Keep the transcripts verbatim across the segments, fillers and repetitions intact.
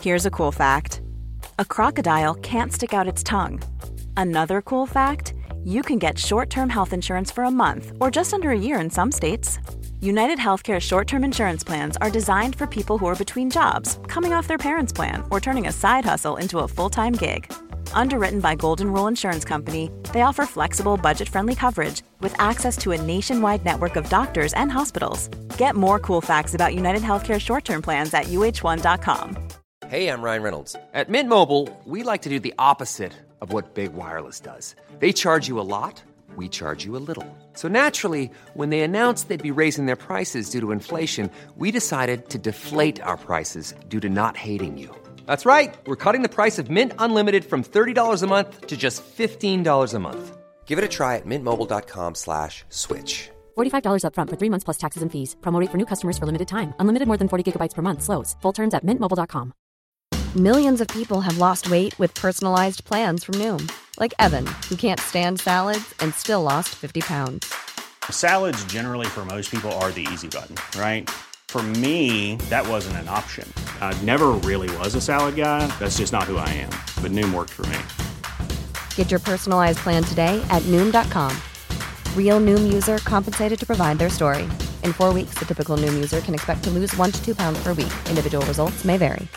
Here's a cool fact. A crocodile can't stick out its tongue. Another cool fact, you can get short-term health insurance for a month or just under a year in some states. United Healthcare short-term insurance plans are designed for people who are between jobs, coming off their parents' plan, or turning a side hustle into a full-time gig. Underwritten by Golden Rule Insurance Company, they offer flexible, budget-friendly coverage with access to a nationwide network of doctors and hospitals. Get more cool facts about United Healthcare short-term plans at U H one dot com. Hey, I'm Ryan Reynolds. At Mint Mobile, we like to do the opposite of what Big Wireless does. They charge you a lot, we charge you a little. So naturally, when they announced they'd be raising their prices due to inflation, we decided to deflate our prices due to not hating you. That's right. We're cutting the price of Mint Unlimited from thirty dollars a month to just fifteen dollars a month. Give it a try at mintmobile.com slash switch. forty-five dollars up front for three months plus taxes and fees. Promo rate for new customers for limited time. Unlimited more than forty gigabytes per month. Slows full terms at mint mobile dot com. Millions of people have lost weight with personalized plans from Noom. Like Evan, who can't stand salads and still lost fifty pounds. Salads generally for most people are the easy button, right? For me, that wasn't an option. I never really was a salad guy. That's just not who I am. But Noom worked for me. Get your personalized plan today at Noom dot com. Real Noom user compensated to provide their story. In four weeks, the typical Noom user can expect to lose one to two pounds per week. Individual results may vary.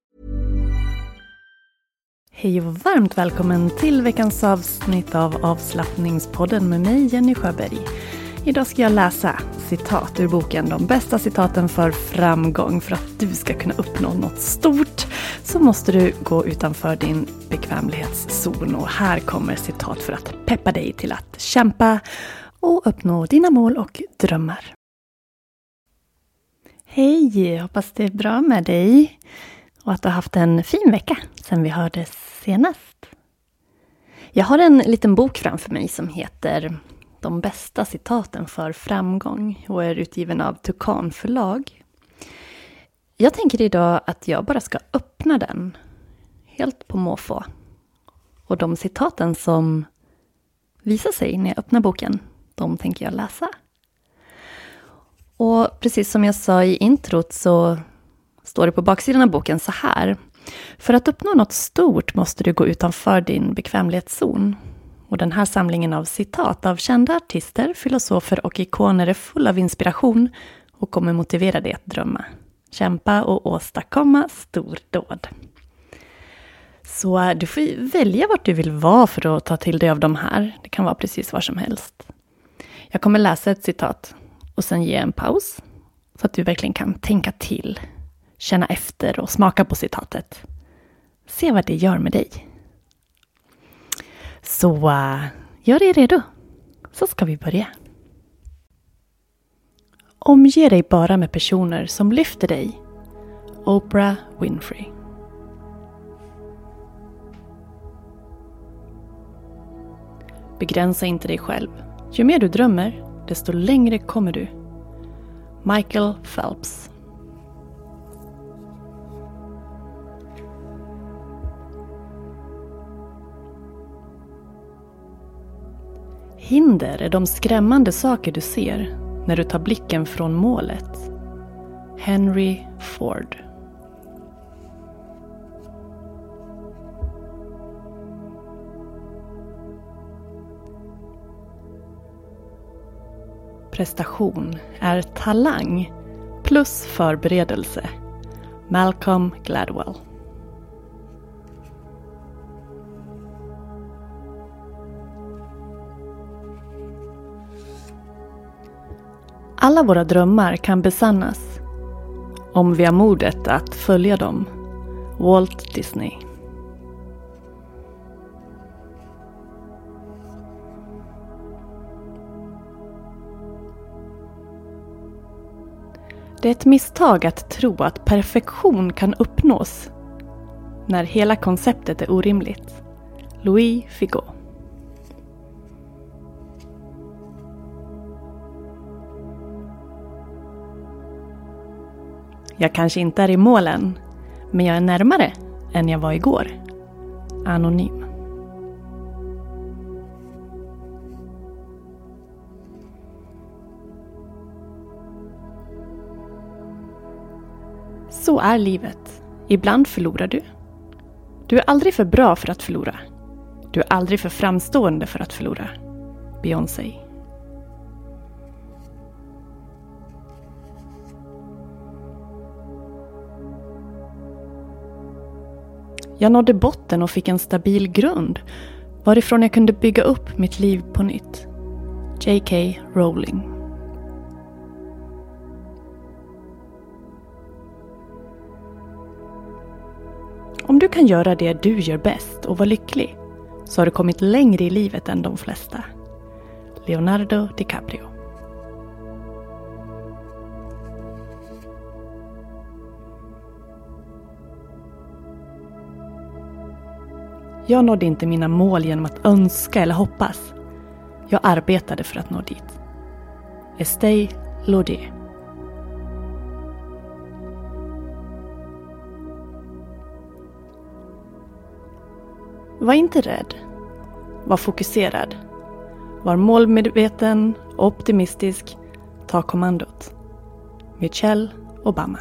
Hej och varmt välkommen till veckans avsnitt av Avslappningspodden med mig, Jenny Sjöberg. Idag ska jag läsa citat ur boken De bästa citaten för framgång. För att du ska kunna uppnå något stort så måste du gå utanför din bekvämlighetszon. Och här kommer citat för att peppa dig till att kämpa och uppnå dina mål och drömmar. Hej, hoppas det är bra med dig. Och att du har haft en fin vecka sedan vi hördes senast. Jag har en liten bok framför mig som heter De bästa citaten för framgång och är utgiven av Tukan förlag. Jag tänker idag att jag bara ska öppna den helt på måfå. Och de citaten som visar sig när jag öppnar boken, de tänker jag läsa. Och precis som jag sa i introt så står det på baksidan av boken så här. För att uppnå något stort måste du gå utanför din bekvämlighetszon. Och den här samlingen av citat av kända artister, filosofer och ikoner är full av inspiration och kommer motivera dig att drömma, kämpa och åstadkomma stordåd. Så du får välja vart du vill vara för att ta till dig av de här. Det kan vara precis var som helst. Jag kommer läsa ett citat och sen ge en paus så att du verkligen kan tänka till, känna efter och smaka på citatet. Se vad det gör med dig. Så uh, gör dig redo, så ska vi börja. Omge dig bara med personer som lyfter dig. Oprah Winfrey. Begränsa inte dig själv. Ju mer du drömmer, desto längre kommer du. Michael Phelps. Hinder är de skrämmande saker du ser när du tar blicken från målet. Henry Ford. Prestation är talang plus förberedelse. Malcolm Gladwell. Alla våra drömmar kan besannas om vi har modet att följa dem. Walt Disney. Det är ett misstag att tro att perfektion kan uppnås när hela konceptet är orimligt. Louis Figo. Jag kanske inte är i målen, men jag är närmare än jag var igår. Anonym. Så är livet. Ibland förlorar du. Du är aldrig för bra för att förlora. Du är aldrig för framstående för att förlora. Beyoncé. Jag nådde botten och fick en stabil grund varifrån jag kunde bygga upp mitt liv på nytt. J K Rowling. Om du kan göra det du gör bäst och vara lycklig så har du kommit längre i livet än de flesta. Leonardo DiCaprio. Jag nådde inte mina mål genom att önska eller hoppas. Jag arbetade för att nå dit. Estée Lauder. Var inte rädd. Var fokuserad. Var målmedveten och optimistisk. Ta kommandot. Michelle Obama.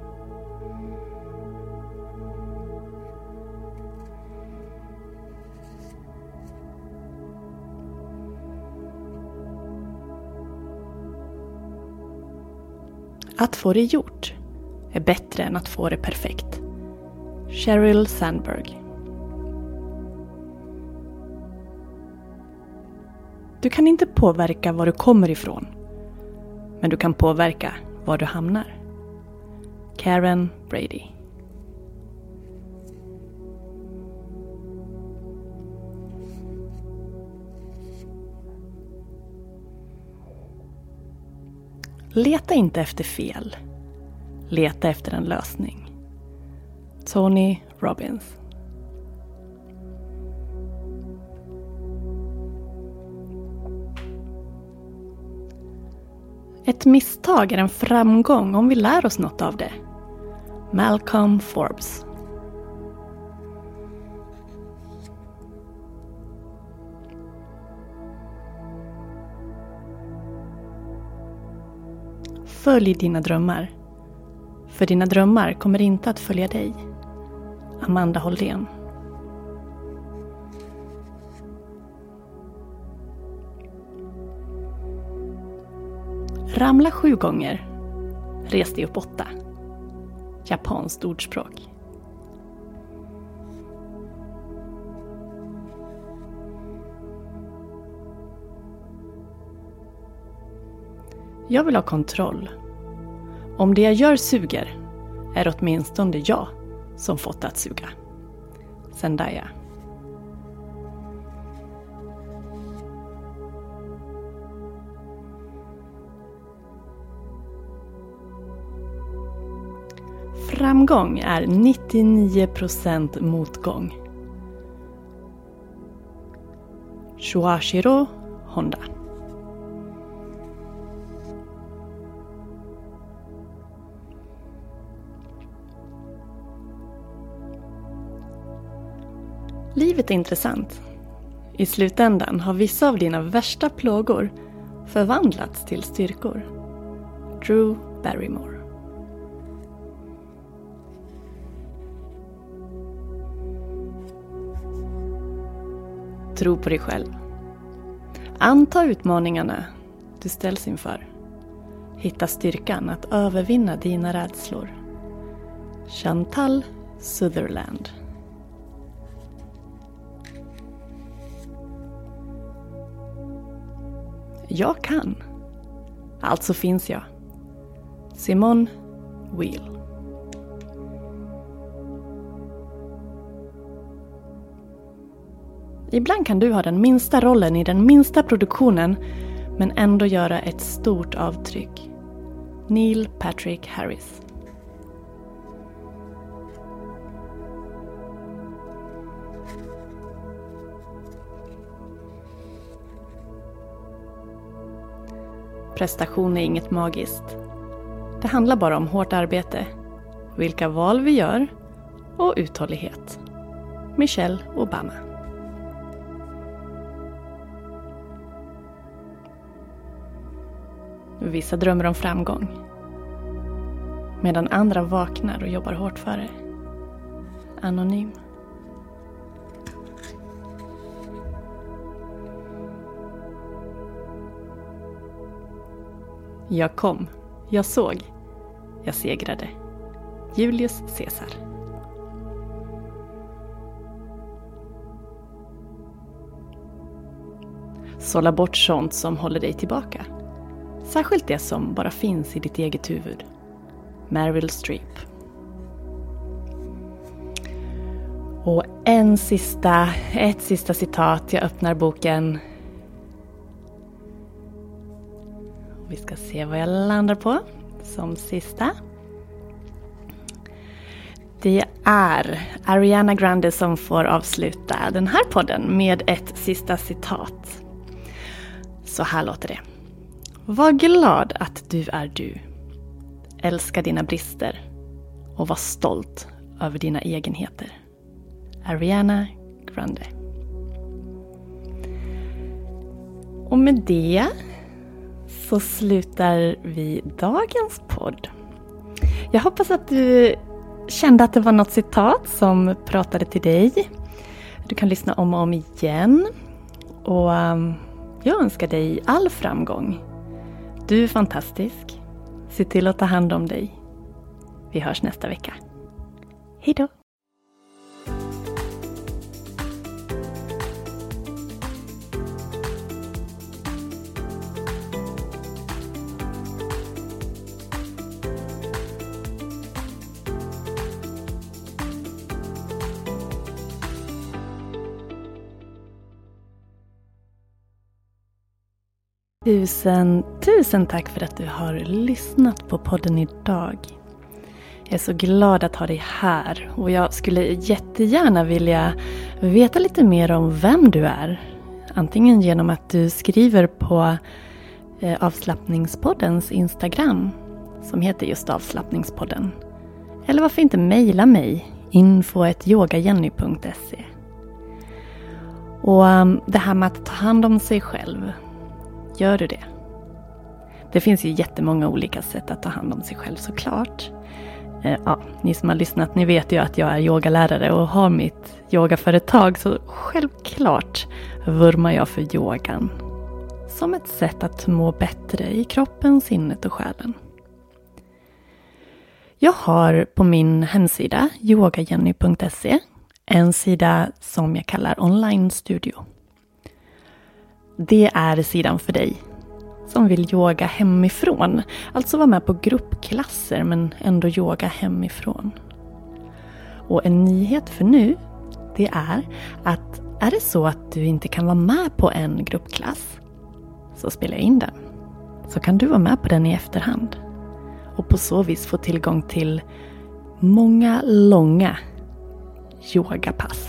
Att få det gjort är bättre än att få det perfekt. Sheryl Sandberg. Du kan inte påverka var du kommer ifrån. Men du kan påverka var du hamnar. Karen Brady. Leta inte efter fel. Leta efter en lösning. Tony Robbins. Ett misstag är en framgång om vi lär oss något av det. Malcolm Forbes. Följ dina drömmar. För dina drömmar kommer inte att följa dig. Amanda Håldén. Ramla sju gånger. Res dig upp åtta. Japanskt ordspråk. Jag vill ha kontroll. Om det jag gör suger är det åtminstone jag som fått att suga. Zendaya. Framgång är nittionio procent motgång. Shuashiro Honda. Livet är intressant. I slutändan har vissa av dina värsta plågor förvandlats till styrkor. Drew Barrymore. Tro på dig själv. Anta utmaningarna du ställs inför. Hitta styrkan att övervinna dina rädslor. Chantal Sutherland. Jag kan. Alltså finns jag. Simone Weil. Ibland kan du ha den minsta rollen i den minsta produktionen men ändå göra ett stort avtryck. Neil Patrick Harris. Prestation är inget magiskt. Det handlar bara om hårt arbete, vilka val vi gör och uthållighet. Michelle Obama. Vissa drömmer om framgång, medan andra vaknar och jobbar hårt för det. anonym. Jag kom, jag såg, jag segrade. Julius Caesar. Sålla bort sånt som håller dig tillbaka. Särskilt det som bara finns i ditt eget huvud. Meryl Streep. Och en sista, ett sista citat. Jag öppnar boken. Vi ska se vad jag landar på som sista. Det är Ariana Grande som får avsluta den här podden med ett sista citat. Så här låter det. Var glad att du är du. Älska dina brister och var stolt över dina egenheter. Ariana Grande. Och med det så slutar vi dagens podd. Jag hoppas att du kände att det var något citat som pratade till dig. Du kan lyssna om och om igen. Och um, jag önskar dig all framgång. Du är fantastisk. Se till att ta hand om dig. Vi hörs nästa vecka. Hej då! Tusen, tusen tack för att du har lyssnat på podden idag. Jag är så glad att ha dig här och jag skulle jättegärna vilja veta lite mer om vem du är. Antingen genom att du skriver på eh, avslappningspoddens Instagram som heter just avslappningspodden. Eller varför inte mejla mig info at yogajenny punkt se. Och um, det här med att ta hand om sig själv. Gör du det? Det finns ju jättemånga olika sätt att ta hand om sig själv såklart. Eh, ja, ni som har lyssnat, ni vet ju att jag är yogalärare och har mitt yogaföretag. Så självklart vurmar jag för yogan. Som ett sätt att må bättre i kroppen, sinnet och själen. Jag har på min hemsida yogajenny punkt se en sida som jag kallar online studio. Det är sidan för dig som vill yoga hemifrån. Alltså vara med på gruppklasser men ändå yoga hemifrån. Och en nyhet för nu, det är att är det så att du inte kan vara med på en gruppklass så spelar jag in den. Så kan du vara med på den i efterhand. Och på så vis få tillgång till många långa yogapass.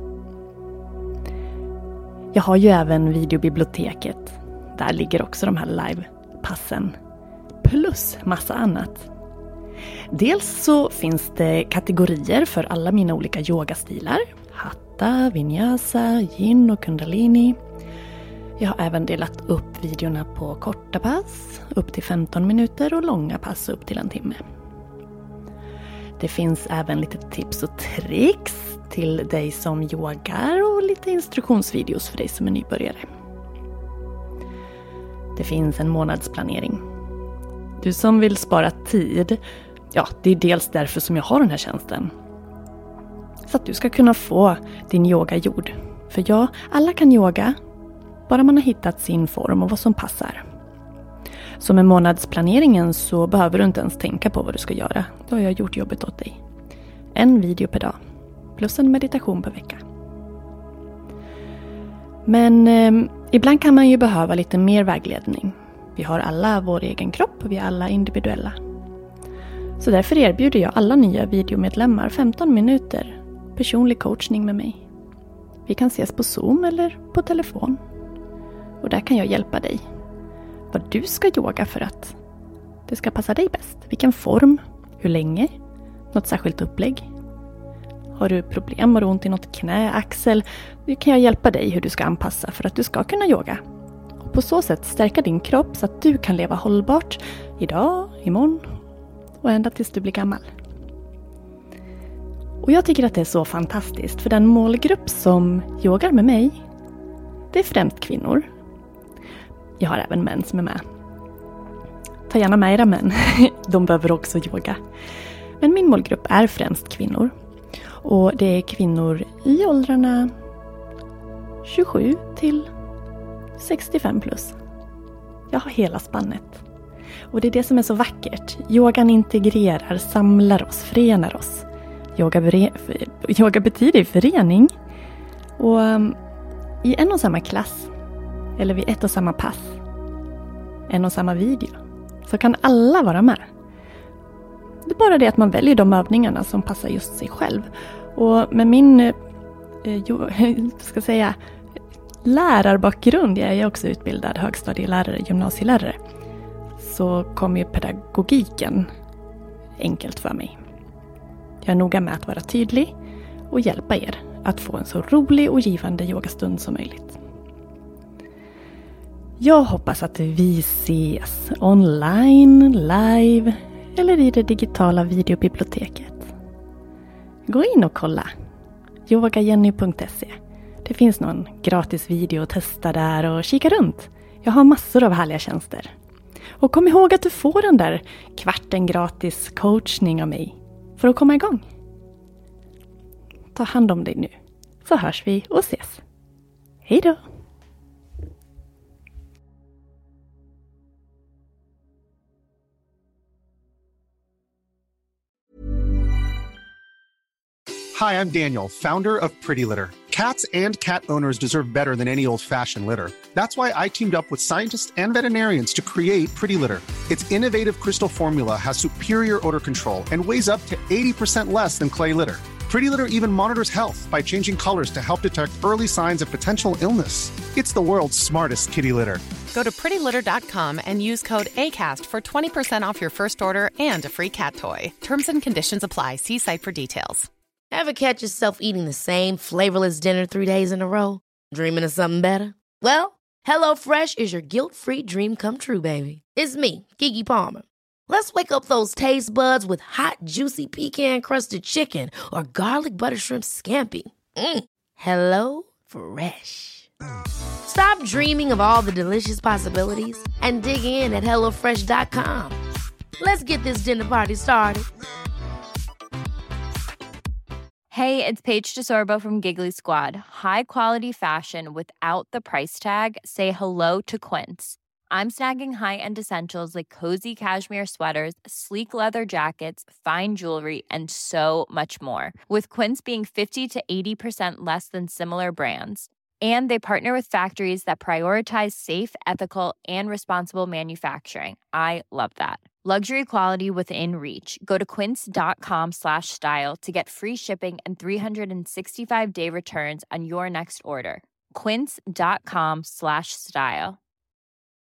Jag har ju även videobiblioteket. Där ligger också de här livepassen. Plus massa annat. Dels så finns det kategorier för alla mina olika yogastilar. Hatha, vinyasa, yin och kundalini. Jag har även delat upp videorna på korta pass, upp till femton minuter och långa pass upp till en timme. Det finns även lite tips och tricks till dig som yogar och lite instruktionsvideos för dig som är nybörjare. Det finns en månadsplanering. Du som vill spara tid, ja, det är dels därför som jag har den här tjänsten. Så att du ska kunna få din yoga gjord. För ja, alla kan yoga, bara man har hittat sin form och vad som passar. Så med månadsplaneringen så behöver du inte ens tänka på vad du ska göra. Då har jag gjort jobbet åt dig. En video per dag. Plus en meditation per vecka. Men eh, ibland kan man ju behöva lite mer vägledning. Vi har alla vår egen kropp och vi är alla individuella. Så därför erbjuder jag alla nya videomedlemmar femton minuter personlig coachning med mig. Vi kan ses på Zoom eller på telefon. Och där kan jag hjälpa dig. Vad du ska yoga för att det ska passa dig bäst. Vilken form, hur länge, något särskilt upplägg. Har du problem, har du ont i något knä, axel, då kan jag hjälpa dig hur du ska anpassa för att du ska kunna yoga. Och på så sätt stärka din kropp så att du kan leva hållbart idag, imorgon och ända tills du blir gammal. Och Och jag tycker att det är så fantastiskt, för den målgrupp som yogar med mig, det är främst kvinnor. Jag har även män som är med. Ta gärna med era män, de behöver också yoga. Men min målgrupp är främst kvinnor. Och det är kvinnor i åldrarna tjugosju till sextiofem plus. Jag har hela spannet. Och det är det som är så vackert. Yogan integrerar, samlar oss, förenar oss. Yoga, bere- yoga betyder förening. Och um, i en och samma klass, eller vid ett och samma pass, en och samma video, så kan alla vara med. Det är bara det att man väljer de övningarna som passar just sig själv. Och med min eh, jo, ska säga, lärarbakgrund, jag är också utbildad högstadielärare, gymnasielärare, så kommer ju pedagogiken enkelt för mig. Jag är noga med att vara tydlig och hjälpa er att få en så rolig och givande yogastund som möjligt. Jag hoppas att vi ses online, live eller i det digitala videobiblioteket. Gå in och kolla. yoga jenny punkt se. Det finns någon gratis video att testa där och kika runt. Jag har massor av härliga tjänster. Och kom ihåg att du får den där kvarten gratis coachning av mig för att komma igång. Ta hand om dig nu, så hörs vi och ses. Hej då! Hi, I'm Daniel, founder of Pretty Litter. Cats and cat owners deserve better than any old-fashioned litter. That's why I teamed up with scientists and veterinarians to create Pretty Litter. Its innovative crystal formula has superior odor control and weighs up to eighty percent less than clay litter. Pretty Litter even monitors health by changing colors to help detect early signs of potential illness. It's the world's smartest kitty litter. Go to pretty litter dot com and use code ACAST for twenty percent off your first order and a free cat toy. Terms and conditions apply. See site for details. Ever catch yourself eating the same flavorless dinner three days in a row? Dreaming of something better? Well, HelloFresh is your guilt-free dream come true, baby. It's me, Keke Palmer. Let's wake up those taste buds with hot, juicy pecan-crusted chicken or garlic butter shrimp scampi. Mm. Hello Fresh. Stop dreaming of all the delicious possibilities and dig in at hello fresh dot com. Let's get this dinner party started. Hey, it's Paige DeSorbo from Giggly Squad. High quality fashion without the price tag. Say hello to Quince. I'm snagging high-end essentials like cozy cashmere sweaters, sleek leather jackets, fine jewelry, and so much more. With Quince being fifty to eighty percent less than similar brands. And they partner with factories that prioritize safe, ethical, and responsible manufacturing. I love that. Luxury quality within reach. Go to quince dot com slash style to get free shipping and three sixty-five day returns on your next order. quince dot com slash style.